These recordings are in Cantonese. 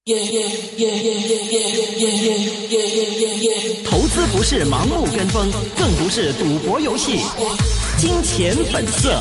投資不是盲目跟風，更不是賭博遊戲。金錢本色。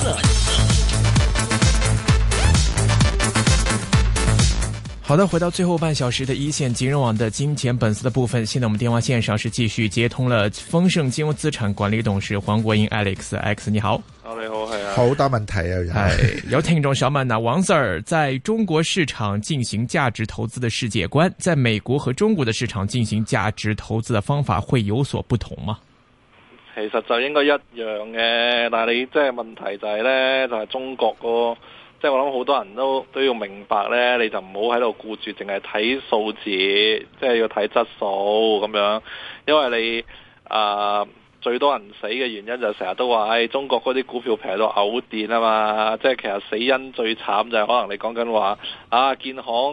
好的，回到最後半小時的一線金融網的金錢本色的部分。現在我們電話線上是繼續接通了豐盛金融資產管理董事黃國英 Alex， 你好。 你好，係啊， 好多問題啊！ 有聽眾想問王 Sir， 在中國市場進行價值投資的世界觀，在美國和中國的市場進行價值投資的方法會有所不同嗎？ 其實就應該一樣嘅，但係你即係問題就係呢，就係中國個，即係我諗好多人都要明白呢，你就唔好喺度顧住淨係睇數字，即係要睇質素咁樣，因為你最多人死嘅原因就成日都話，中國嗰啲股票平到嘔電啊嘛！即係其實死因最慘就係可能你講緊話建行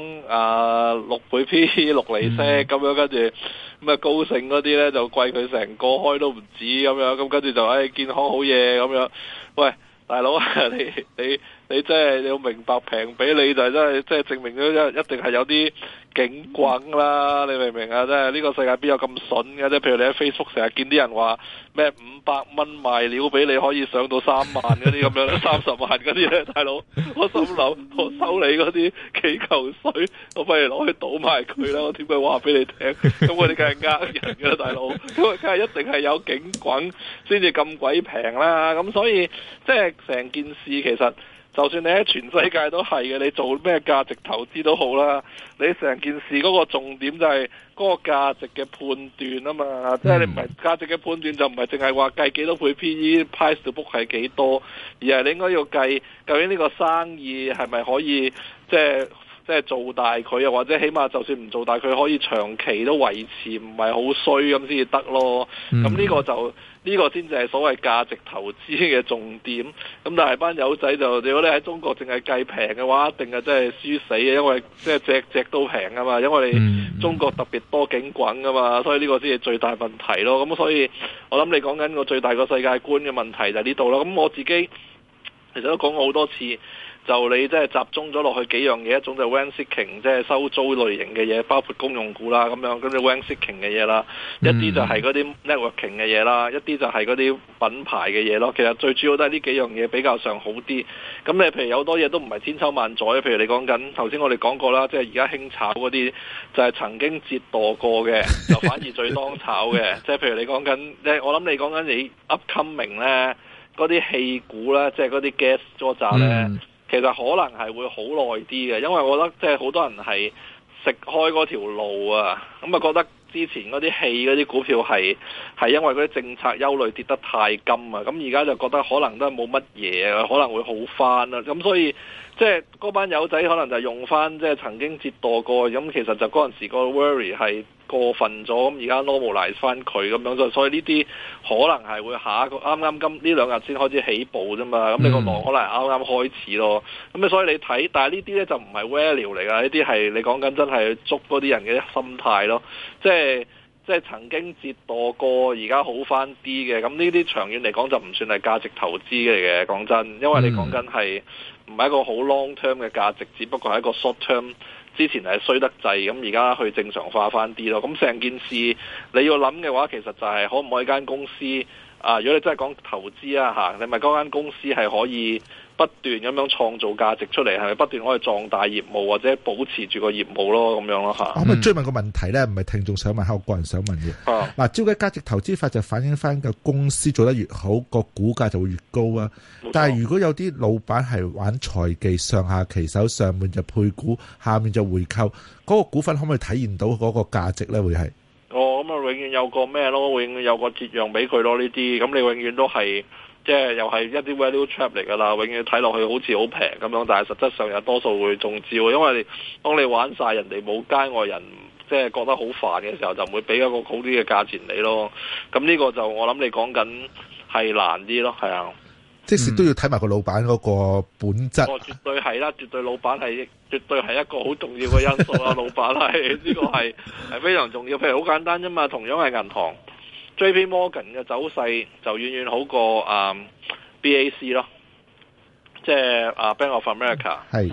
6倍 P 6厘息咁樣，跟住咁啊高盛嗰啲呢就貴佢成個開都唔止咁樣，咁跟住就建行好嘢咁樣。喂，大佬你真係你要明白，平俾你就真係即係證明咗一定係有啲警棍啦，你明唔明啊？即係呢個世界邊有咁筍嘅？即係譬如你喺 Facebook 成日見啲人話咩500蚊賣料俾你可以上到3萬嗰啲咁樣30萬嗰啲咧，大佬我心諗我收你嗰啲幾嚿水，我不如攞去賭埋佢啦！我點解話俾你聽？咁我哋梗係呃人㗎啦，大佬，咁啊梗係一定係有警棍先至咁鬼平啦。咁所以即係成件事其實。就算你喺全世界都係嘅，你做咩價值投資都好啦，你成件事嗰個重點就係嗰個價值嘅判斷啊嘛，即係你唔係價值嘅判斷就唔係淨係話計幾多倍 PE、price to book 係幾多，而係你應該要計究竟呢個生意係咪可以即係做大佢啊，或者起碼就算唔做大佢可以長期都維持唔係好衰咁先至得咯。咁呢個先至係所謂價值投資嘅重點。咁但係班友仔就如果你喺中國淨係計平嘅話，一定係真係輸死嘅，因為即係隻都平啊嘛，因為你中國特別多警棍啊嘛，所以呢個先係最大問題咯。咁所以我諗你講緊個最大個世界觀嘅問題就係呢度咯。咁我自己其實都講過好多次。就你即係集中咗落去幾樣嘢，一種就 rent seeking， 即係收租類型嘅嘢，包括公用股啦咁樣，跟住 rent seeking 嘅嘢啦，一啲就係嗰啲 networking 嘅嘢啦，一啲就係嗰啲品牌嘅嘢咯。其實最主要都係呢幾樣嘢比較上好啲。咁你譬如有好多嘢都唔係千秋萬載，譬如你講緊頭先我哋講過啦，即係而家興炒嗰啲就係曾經折墮過嘅，就反而最當炒嘅。即係譬如你講緊，我諗你講緊你 upcoming 咧嗰啲氣股咧，即係嗰啲 gas 咗炸咧。其實可能係會好耐啲嘅，因為我覺得即係好多人係食開嗰條路啊，咁啊覺得之前嗰啲氣嗰啲股票係因為嗰啲政策憂慮跌得太金啊，咁而家就覺得可能都係冇乜嘢啊，可能會好翻啦，咁所以即係嗰班友仔可能就用翻即係曾經折墮過，咁其實就嗰陣時個 worry 係過分咗，咁而家 normalize 翻佢咁樣，所以呢啲可能係會下一個啱啱呢兩日先開始起步啫嘛，咁你個浪可能係啱啱開始咯，咁所以你睇，但係呢啲咧就唔係 value 嚟㗎，呢啲係你講緊真係捉嗰啲人嘅心態咯，即係曾經折墮過，而家好翻啲嘅，咁呢啲長遠嚟講就唔算係價值投資嚟嘅，講真，因為你講緊係唔係一個好 long term 嘅價值，只不過係一個 short term。之前係衰得滯，咁而家去正常化翻啲咯。咁成件事你要諗嘅話，其實就係可唔可以間公司如果你真係講投資你咪嗰間公司係可以不斷咁樣創造價值出嚟，係咪不斷可以壯大業務或者保持住個業務咯，咁樣咯嚇。 我咪追問個問題咧，唔係聽眾想問，係我個人想問嘅。嗱，照計價值投資法就反映翻個公司做得越好，個股價就會越高啊。但係如果有啲老闆係玩財技，上下其手，上面就配股，下面就回購，嗰個股份可唔可以體現到嗰個價值咧？會係？咁永遠有個咩咯？永遠有個折讓俾佢咯。呢啲咁你永遠都係。即係又係一啲 value trap 嚟㗎啦，永遠睇落去好似好平咁樣，但係實質上有多數會中招，因為當你玩晒人哋冇街外人，即係覺得好煩嘅時候，就唔會俾一個好啲嘅價錢你咯。咁呢個就我諗你講緊係難啲咯，係啊。 即使都要睇埋個老闆嗰個本質。 絕對係啦，絕對老闆係絕對係一個好重要嘅因素啦。老闆係呢個係非常重要。譬如好簡單啫嘛，同樣係銀行。JP Morgan 嘅走勢就遠遠好過BAC 咯，即係Bank of America。 係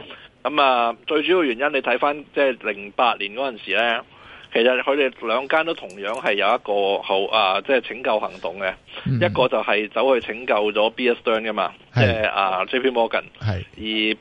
咁啊，最主要原因你睇翻即係08年嗰陣時咧，其實佢哋兩間都同樣係有一個即係拯救行動嘅，一個就係走去拯救咗 Bear Stearns 噶嘛，即係JP Morgan，而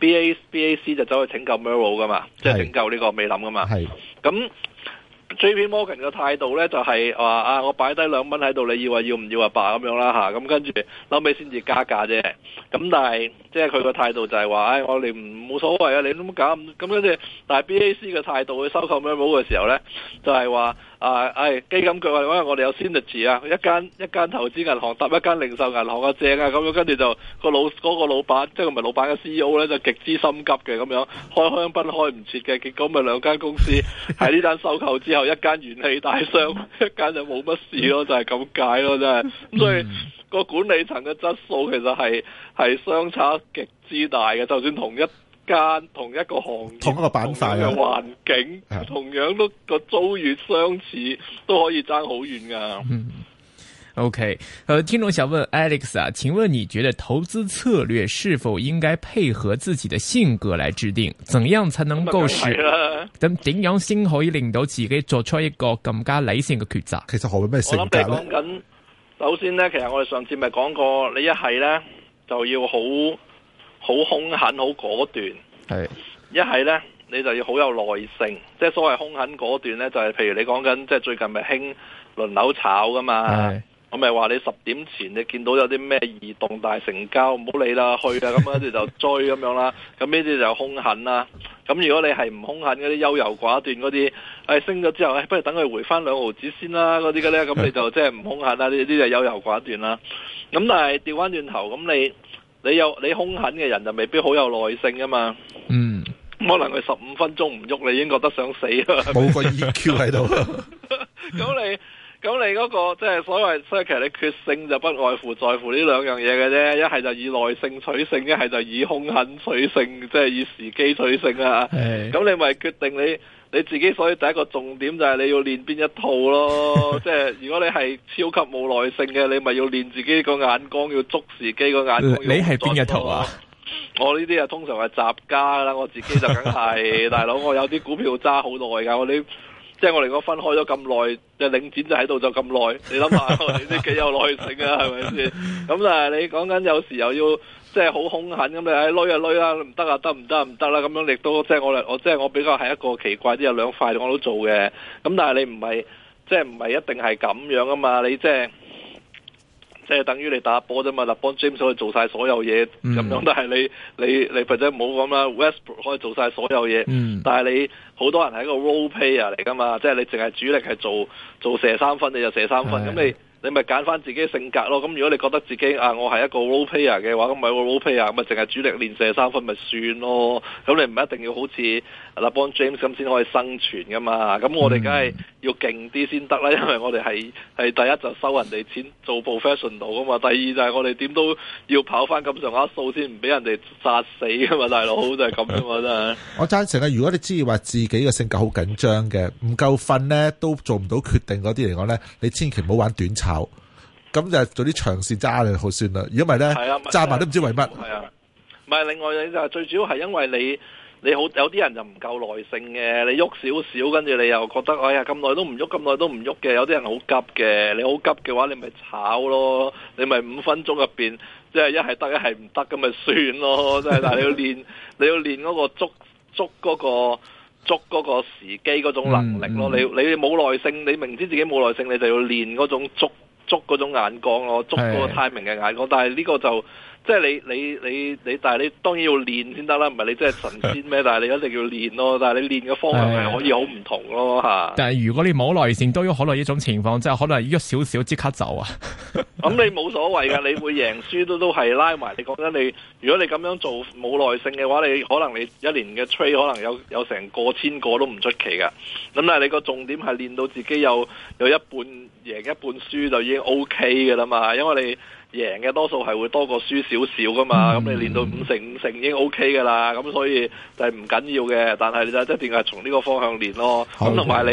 BAC 就走去拯救 Merrill 噶嘛，即係拯救呢個美林噶嘛，咁。JP Morgan 嘅態度咧就係話我擺低2蚊喺度，你要唔要罷咁樣啦嚇，咁跟住後尾先至加價啫。咁但係即係佢個態度就係話，我哋冇所謂啊，你都冇搞咁跟住。但係 BAC 嘅態度去收購 Merrill 嘅時候咧，就係話基金腳啊，我哋有 synergy 啊，一間投資銀行搭一間零售銀行啊正啊咁樣，跟住就嗰個老闆即係唔係老闆嘅 CEO 咧就極之心急嘅咁樣，開香檳開唔切嘅，結果咪兩間公司喺呢單收購之後，一間元氣大傷，一間就冇乜事咯，就係咁解咯，真係咁所以個管理層嘅質素其實係相差極之大嘅，就算同一個行業、 同一個板塊嘅環境，同樣都個遭遇相似，都可以爭好遠噶。 OK，聽眾想問 Alex 啊，請問你覺得投資策略是否應該配合自己的性格來制定？怎樣才能夠咁點樣先可以令到自己做出一個更加理性嘅抉擇？ 其實何謂咩性格咧？ 我諗你講緊，首先呢，其實我哋上次咪講過，你一係呢就要好兇狠、好果斷，一係呢你就要好有耐性。即係所謂兇狠果斷呢，就係譬如你講緊，即係最近咪興輪流炒噶嘛。我咪話你10點前你見到有啲咩異動大成交，唔好理啦，去啦，咁跟住就追咁樣啦。咁呢啲就兇狠啦。咁如果你係唔兇狠嗰啲優柔寡斷嗰啲，升咗之後，不如等佢回翻2毫子先啦，嗰啲嘅咧，咁你就即係唔兇狠啦。呢啲就優柔寡斷啦。咁但係調翻轉頭，咁你兇狠嘅人就未必好有耐性噶嘛。可能佢15分鐘唔喐，你已經覺得想死啦。 冇個 EQ 喺度。 咁你嗰個即係所謂，所以其實你決勝就不外乎在乎呢兩樣嘢嘅啫，一係就以耐性取勝，一係就以兇狠取勝，即係以時機取勝啊！咁你咪決定你自己，所以第一個重點就係你要練邊一套咯。即係如果你係超級冇耐性嘅，你咪要練自己個眼光，要捉時機個眼光。 你係邊一套啊？ 我呢啲啊通常係雜家啦，我自己就梗係大佬，我有啲股票揸好耐㗎，即係我哋講分開咗咁耐，即係領展就喺度就咁耐，你諗下我哋啲幾有耐性啊，係咪先？咁但係你講緊有時又要即係好兇狠咁，你累啦，唔得啊，得啦，咁樣亦都即係我比較係一個奇怪啲，有兩塊我都做嘅。咁但係你唔係一定係咁樣啊嘛，你即係等於你打波啫嘛，LeBron James可以做晒所有嘢咁樣，但係你或者唔好講啦，Westbrook 可以做晒所有嘢，但係你好多人係一個 role player 嚟噶嘛，即係你淨係主力係做射3分，你就射3分，咁你咪揀翻自己性格咯。咁如果你覺得自己我係一個 role player 嘅話，咁咪個 role player，咁咪淨係主力練射3分咪算咯。咁你唔一定要好似LeBron James 咁先可以生存噶嘛。咁我哋梗係要勁啲先得啦，因為我哋係第一就收人哋錢做 professional 噶嘛，第二就係我哋點都要跑翻咁上下數先唔俾人哋殺死噶嘛，大佬就係咁啫嘛，真係。 我贊成啊！如果你知話自己嘅性格好緊張嘅，唔夠瞓咧都做唔到決定嗰啲嚟講咧，你千祈唔好玩短炒，咁就做啲長線揸就好算啦。如果唔係咧，揸埋都唔知為乜。係啊， 唔係另外你就最主要係因為你好有啲人就唔夠耐性嘅，你喐少少，跟住你又覺得哎呀咁耐都唔喐嘅，有啲人好急嘅，你好急嘅話你咪炒咯，你咪5分鐘入邊即係一係得一係唔得咁咪算咯，即係但係你要練嗰個捉嗰個時機嗰種能力咯，你冇耐性，你明知自己冇耐性，你就要練嗰種捉嗰種眼光咯，捉嗰個 timing 嘅眼光，但係呢個就即係你，但係你當然要練先得啦，唔係你真係神仙咩？但係你一定要練咯，但係你練嘅方向係可以好唔同咯吓。但係如果你冇耐性，都有可能一種情況，即係可能喐少少即刻走啊。 咁你冇所謂噶，你會贏輸都係拉埋。你講緊你，如果你咁樣做冇耐性嘅話，你可能你一年嘅 trade 可能有成過千個都唔出奇噶。咁但係你個重點係練到自己有一半贏一半輸就已經 OK 噶啦嘛，因為你。贏嘅多數係會多過輸少少噶嘛，咁你練到5成已經 OK 噶啦，咁所以就係唔緊要嘅，但係你就一定係從呢個方向練咯。咁同埋你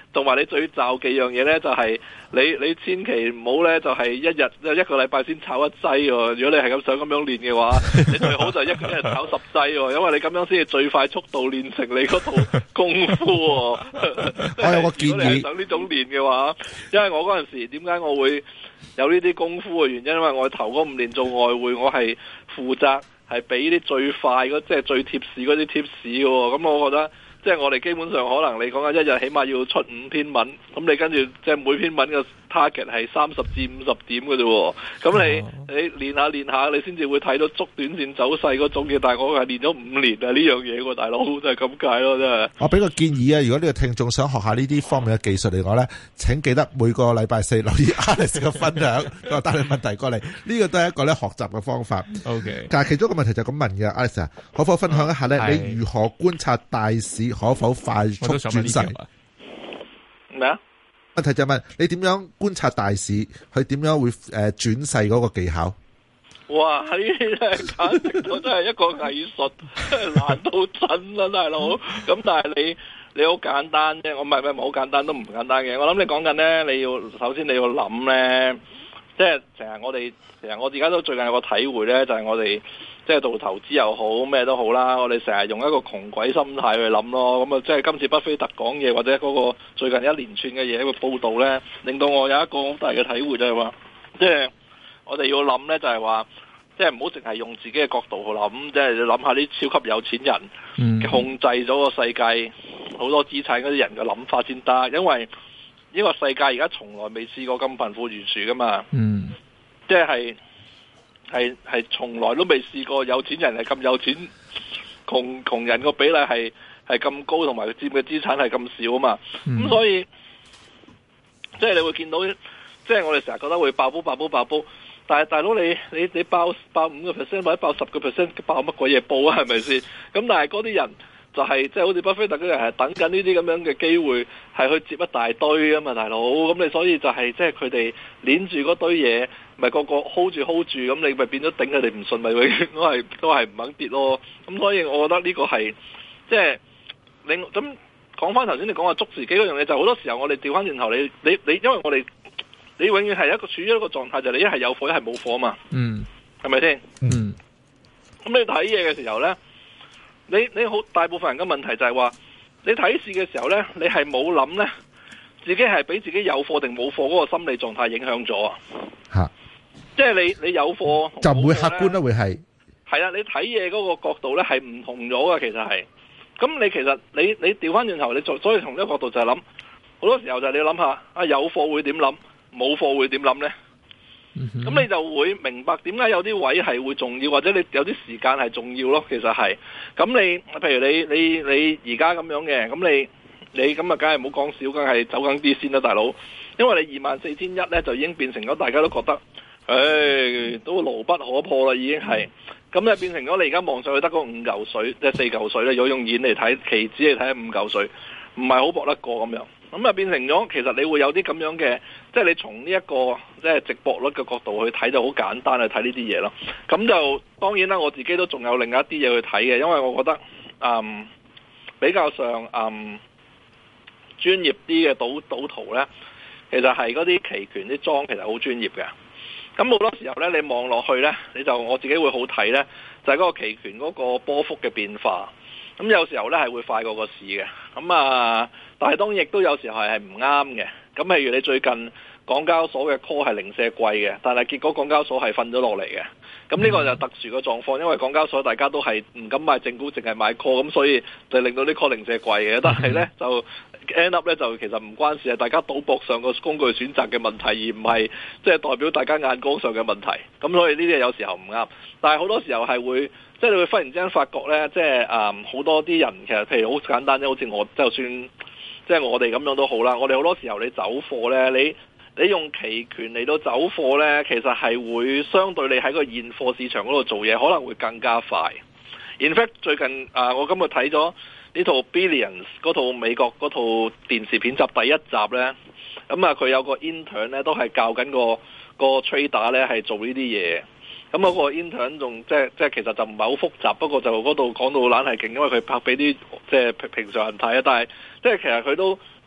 同埋你最罩幾樣嘢咧，就係你千祈唔好咧，就係一個禮拜先炒一劑喎。如果你係咁想咁樣練嘅話，你最好就一日炒10劑喎，因為你咁樣先至最快速度練成你嗰套功夫喎。我有個建議，如果你係想呢種練嘅話，因為我嗰陣時點解我會有呢啲功夫嘅原因，因為我頭嗰5年做外匯，我係負責係俾啲最快即係最貼士嗰啲貼士嘅。咁我覺得即係我哋基本上可能你講緊一日起碼要出5篇文，咁你跟住即係每篇文嘅 target 係30至50點嘅啫。咁你練下練下，你先至會睇到捉短線走勢嗰種嘅。但係我係練咗5年啊呢樣嘢喎，大佬就係咁解咯，真係。我俾個建議啊，如果呢個聽眾想學下呢啲方面嘅技術嚟講咧，請記得每個禮拜4留意 Alex 嘅分享，我帶你問題過嚟，呢個都係一個咧學習嘅方法。OK， 但係其中一個問題就咁問嘅 Alex 啊，可否分享一下咧？你如何觀察大市可否快速轉勢？咩啊？問題就問你點樣觀察大市，佢點樣會轉勢嗰個技巧？哇！呢啲簡直都真係一個藝術，難到真啦，大佬。咁但係你好簡單啫，我唔係好簡單，都唔簡單嘅。我諗你講緊咧，你要首先你要諗咧，即係成日我而家都最近有個體會咧，就係我哋即係做投資又好咩都好啦，我哋成日用一個窮鬼心態去諗咯。咁啊，即係今次巴菲特講嘢或者嗰個最近一連串嘅嘢一個報導咧，令到我有一個好大嘅體會就係話，即係我哋要諗咧，就係話，即係唔好淨係用自己嘅角度去諗，即係你諗下啲超級有錢人控制咗個世界好多資產嗰啲人嘅諗法先得，因為呢個世界而家從來未試過咁貧富懸殊噶嘛，即係從來都未試過有錢人係咁有錢，窮人個比例係咁高，同埋佢佔嘅資產係咁少啊嘛，咁所以即係你會見到，即係我哋成日覺得會爆煲，但係大佬你爆5% 或者爆10%，爆乜鬼嘢煲啊？係咪先？咁但係嗰啲人就係即係好似巴菲特嗰啲人係等緊呢啲咁樣嘅機會，係去接一大堆啊嘛，大佬。咁你所以就係即係佢哋捏住嗰堆嘢，咪個 hold 住，咁你咪變咗頂佢哋唔順，咪永遠都係唔肯跌咯。咁所以我覺得呢個係即係你咁講翻頭先你講話捉時機嗰樣嘢，就好多時候我哋調翻轉頭，你因為我哋。你永遠係處於一個狀態，就係你一係有貨，一係冇貨嘛。係咪先？咁你睇嘢嘅時候咧，你好大部分人嘅問題就係話，你睇市嘅時候咧，你係冇諗咧，自己係俾自己有貨定冇貨嗰個心理狀態影響咗啊。吓，即係你有貨就唔會客觀啦，會係啊。你睇嘢嗰個角度咧係唔同咗噶，其實係。咁你其實你調翻轉頭，你所以從呢個角度就係諗，好多時候就係你諗下啊，有貨會點諗？冇貨會點諗呢？咁你就會明白點解有啲位係會重要，或者你有啲時間係重要咯。其實係咁，你譬如你而家咁樣嘅，咁你咁啊，梗係唔好講少，梗係走緊啲先啦，大佬。因為你24,100呢，就已經變成咗大家都覺得，都牢不可破啦，已經係咁咧，變成咗你而家望上去得嗰5嚿水，即係4嚿水咧。如果用現嚟睇，期指嚟睇5嚿水，唔係好搏得過咁樣。咁啊，變成咗其實你會有啲咁樣嘅，即係你從呢一個即係值博率嘅角度去睇，就好簡單去睇呢啲嘢咯。咁就當然啦，我自己都仲有另一啲嘢去睇嘅，因為我覺得比較上專業啲嘅賭徒咧，其實係嗰啲期權啲莊其實好專業嘅。咁好多時候咧，你望落去咧，我自己會好睇咧，就係嗰個期權嗰個波幅嘅變化。咁有時候咧係會快過個市嘅。咁但係當然亦都有時候係唔啱嘅。咁譬如你最近港交所嘅 call 係零舍貴嘅，但係結果港交所係瞓咗落嚟嘅。咁呢個就特殊嘅狀況，因為港交所大家都係唔敢買正股，淨係買 call，咁所以就令到啲 call 零舍貴嘅。但係咧就 end up 咧就其實唔關事，係大家賭博上個工具選擇嘅問題，而唔係即係代表大家眼光上嘅問題。咁所以呢啲有時候唔啱，但係好多時候係會即係你會忽然之間發覺咧，即係好多啲人其實譬如好簡單啫，好似我就算即係我哋咁樣都好啦。我哋好多時候你走貨咧，你用期權嚟到走貨呢，其實係會相對你喺個現貨市場嗰度做嘢，可能會更加快。In fact， 最近我今日睇咗呢套 Billions 嗰套美國嗰套電視片集第一集呢，咁佢有個 intern 呢都係教緊個 trader 呢係做呢啲嘢。咁嗰個 intern 仲即係其實就唔係好複雜，不過就嗰度講到懶係勁，因為佢拍俾啲即係平常人睇啊。但係即係其實佢都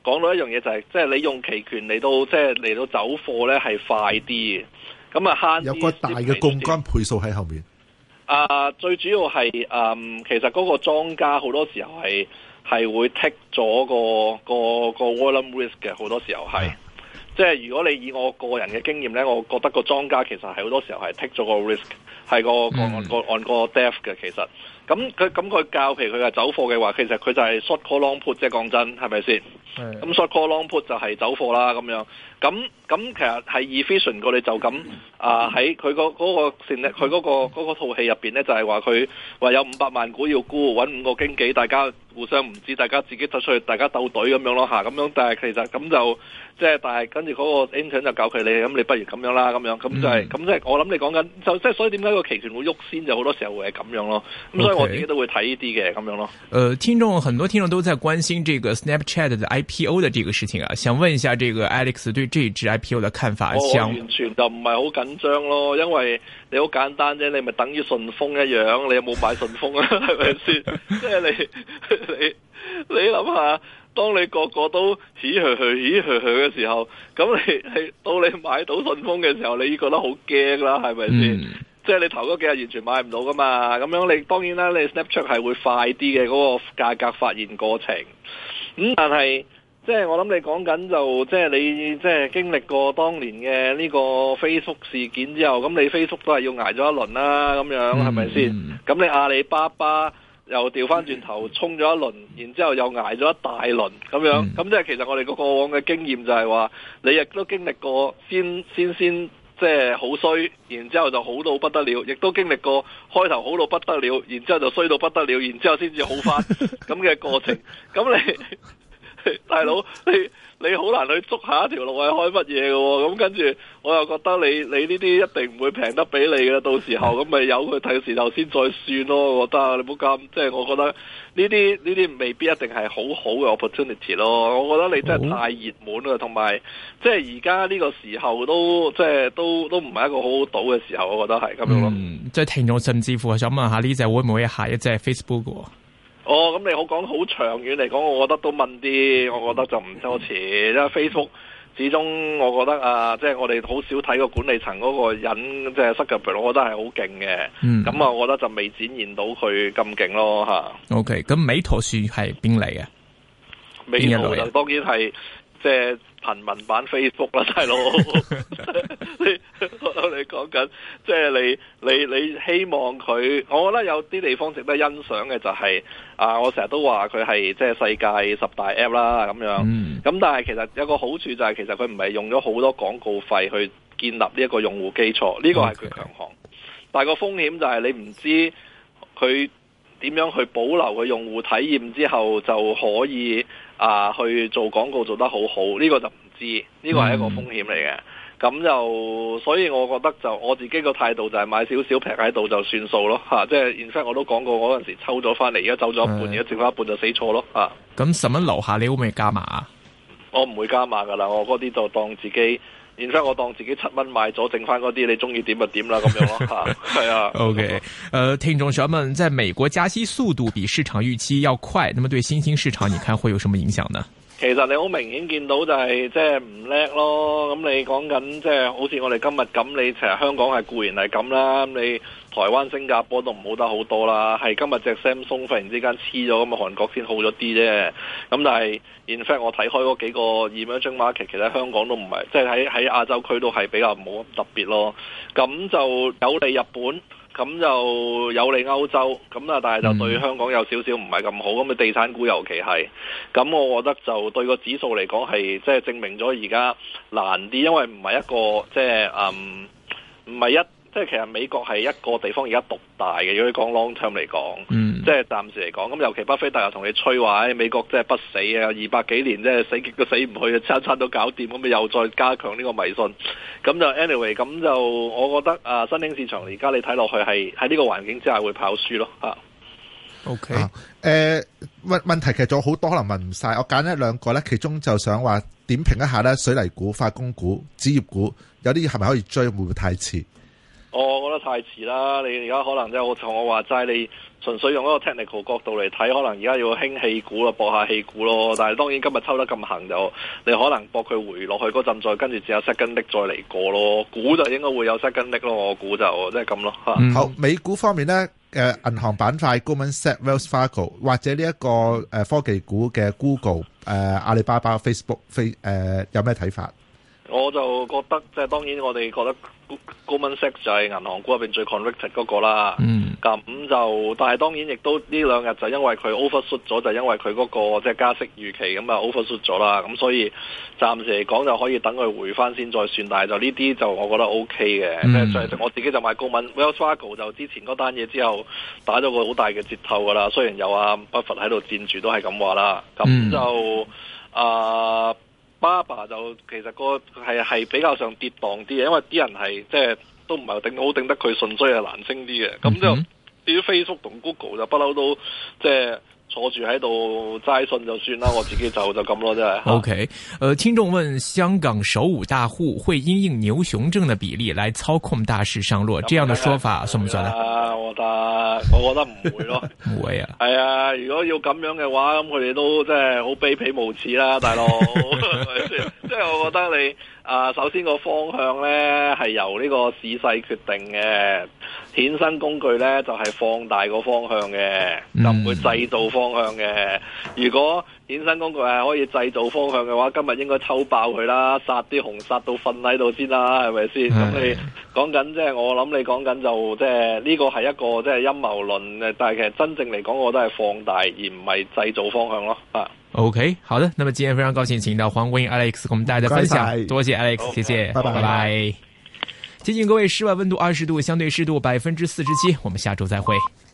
講到一樣嘢就係，即係你用期權嚟到即係嚟到走貨咧係快啲嘅，咁啊慳啲。有個大嘅槓桿倍數喺後面。最主要係其實嗰個莊家好多時候係會 take 咗個 volume risk 嘅，好多時候係。即係如果你以我個人嘅經驗咧，我覺得個莊家其實係好多時候係 take 咗個 risk， 係按個 depth 嘅其實。咁佢教，譬如佢係走貨嘅話，其實佢就係 short call long put， 即係講真，係咪先？咁 short call long put 就係走貨啦，咁樣。咁其實係 efficient 過你就咁喺佢嗰個套戲入邊咧，就係話佢話有500萬股要沽，揾5個經紀，大家互相唔知，大家自己走出去，大家鬥隊咁樣咯嚇，咁樣。但係其實咁就即係，但係跟住嗰個 intern 就教佢你，咁你不如咁樣啦，咁樣咁就係咁即係我諗你講緊就即係，所以點解個期權會喐先，就好多時候會係咁樣咯。咁所以我自己都會睇呢啲嘅咁樣咯。 很多聽眾都在關心這個 Snapchat 的 IPO 的這個事情啊，想問一下這個 Alex 對這支 IPO 的看法。 我完全就唔係好緊張咯，因為你好簡單啫，你咪等於順豐一樣，你有冇買順豐啊？係咪先？即係你諗下，當你個個都起去嘅時候，咁你到你買到順豐嘅時候，你已經覺得好驚啦，係咪先？即係你頭嗰幾日完全買唔到噶嘛，咁樣你當然啦，你 Snapchat 係會快啲嘅嗰個價格發現過程。但係即係我諗你講緊就即係你即係經歷過當年嘅呢個 Facebook 事件之後，咁你 Facebook 都係要捱咗一輪啦，咁樣係咪先？咁你阿里巴巴又調翻轉頭衝咗一輪，然之後又捱咗一大輪咁樣，咁即係其實我哋個過往嘅經驗就係話，你亦都經歷過先即係好衰，然之後就好到不得了，亦都經歷過開頭好到不得了，然之後就衰到不得了，然之後先至好翻咁嘅過程。咁你大佬你好難去捉下一條路係開乜嘢嘅喎，咁跟住我又覺得你呢啲一定唔會平得俾你嘅，到時候咁咪由佢睇時候先再算咯。我覺得你唔好咁，即係我覺得呢啲未必一定係好嘅 opportunity 咯。我覺得你真係太熱門啦，同埋即係而家呢個時候都即係都唔係一個好好賭嘅時候，我覺得係咁樣咯。 即係聽眾甚至乎想問下呢隻會唔會係下一隻 Facebook 嘅？ 咁你好講好長遠嚟講，我覺得都問啲，我覺得就唔多遲，因為 Facebook 始終我覺得即係我哋好少睇個管理層嗰個人，即係 Zuckerberg，我覺得係好勁嘅。咁我覺得就未展現到佢咁勁咯嚇。 OK，咁美圖算係邊嚟嘅？ 美圖就當然係即係貧民版 Facebook 啦，大佬。你講緊即係你希望佢，我覺得有啲地方值得欣賞嘅就係我成日都話佢係即係世界10大 app 啦咁樣。咁但係其實有個好處就係其實佢唔係用咗好多廣告費去建立呢一個用戶基礎，呢個係佢強項。但係個風險就係你唔知佢點樣去保留佢用戶體驗之後就可以去做廣告做得好好，呢個就唔知，呢個係一個風險嚟嘅。咁就所以我覺得就我自己個態度就係買少少平喺度就算數咯嚇，即係 in fact 我都講過嗰陣時抽咗翻嚟，而家走咗一半，而家剩翻一半就死錯咯嚇。 咁10蚊樓下你會唔會加碼啊？ 我唔會加碼噶啦，我嗰啲就當自己。然之後我當自己7蚊買咗，剩翻嗰啲你中意點就點啦，咁樣咯嚇，係啊。OK， 聽眾想問，在美國加息速度比市場預期要快，那麼對新興市場你看會有什麼影響呢？ 其實你好明顯見到就係即係唔叻咯，咁你講緊即係好似我哋今日咁，你其實香港係固然係咁啦，咁你台灣、新加坡都唔好得好多啦，係今日隻 Samsung 忽然之間黐咗，咁啊韓國先好咗啲啫。咁但係 in fact 我睇開嗰幾個 emerging market，其實香港都唔係，即係喺亞洲區都係比較冇咁特別咯。咁就有利日本。咁就有利歐洲，咁但係就對香港有少少唔係咁好，咁地產股尤其係，咁我覺得就對個指數嚟講係即係證明咗而家難啲，因為唔係一個即係唔係一。即係其實美國係一個地方而家獨大嘅，如果你講 long term 嚟講，即係暫時嚟講，咁尤其巴菲特又同你吹話，美國即係不死啊，200幾年即係死極都死唔去，餐餐都搞掂，咁咪又再加強呢個迷信，咁就 anyway，咁就我覺得新興市場而家你睇落去係喺呢個環境之下會跑輸咯嚇。 OK，問題其實仲有好多可能問唔晒，我揀一兩個咧，其中就想話點評一下咧，水泥股、化工股、紙業股有啲係咪可以追，會唔會太遲？ 我覺得太遲啦！你而家可能即係我同我話齋，你純粹用一個 technical 角度嚟睇，可能而家要興氣股啦，搏下氣股咯。但係當然今日抽得咁行就，你可能搏佢回落去嗰陣，再跟住只有 second leg 再嚟過咯。股就應該會有 second leg 咯，我估就即係咁咯。 好，美股方面呢，銀行板塊 Goldman Sachs、Wells Fargo 或者呢一個科技股嘅 Google、阿里巴巴、Facebook 有咩睇法？ 我就覺得即係當然，我哋覺得 Goldman Sachs 就係銀行股入邊最 convicted 嗰個啦。咁就但係當然亦都呢兩日就因為佢 overshoot 咗，就因為佢嗰個即係加息預期咁啊 overshoot 咗啦。咁所以暫時嚟講就可以等佢回翻先再算。但係就呢啲就我覺得 OK 嘅。即係我自己就買高敏 Wells Fargo 就之前嗰單嘢之後打咗個好大嘅折透㗎啦。雖然有阿巴菲特喺度佔住都係咁話啦。咁就巴巴就其實個係比較上跌蕩啲嘅，因為啲人係即係都唔係好頂得佢順，所以係難升啲嘅。咁就至於 Facebook 同 Google 就不嬲都即係坐住喺度齋信就算啦，我自己就咁咯，真係。 OK，聽眾問：香港首5大戶會因應牛熊證的比例來操控大市上落，這樣的說法算唔算咧？ 我覺得唔會咯， 唔會啊。 係啊，如果要咁樣嘅話，咁佢哋都即係好卑鄙無恥啦，大佬。即係我覺得你首先個方向咧係由呢個市勢決定嘅，衍生工具咧就係放大個方向嘅，就唔會製造方向嘅。如果衍生工具係可以製造方向嘅話，今日應該抽爆佢啦，殺啲熊殺到瞓喺度先啦，係咪先？咁你講緊即係我諗你講緊就即係呢個係一個即係陰謀論嘅，但係其實真正嚟講，我都係放大而唔係製造方向咯。 OK， 好的，那麼今天非常高興請到黃國英 Alex 跟我們大家的分享，多謝 Alex， 謝謝，拜拜。提醒各位，室外溫度20度，相對濕度47%，我們下周再會。